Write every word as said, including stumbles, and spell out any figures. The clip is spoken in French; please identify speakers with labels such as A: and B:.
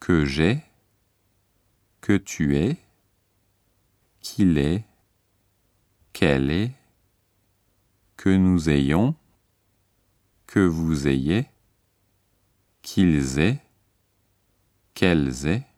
A: que j'ai, que tu es, qu'il est, qu'elle est, que nous ayons, que vous ayez, qu'ils aient, qu'elles aient,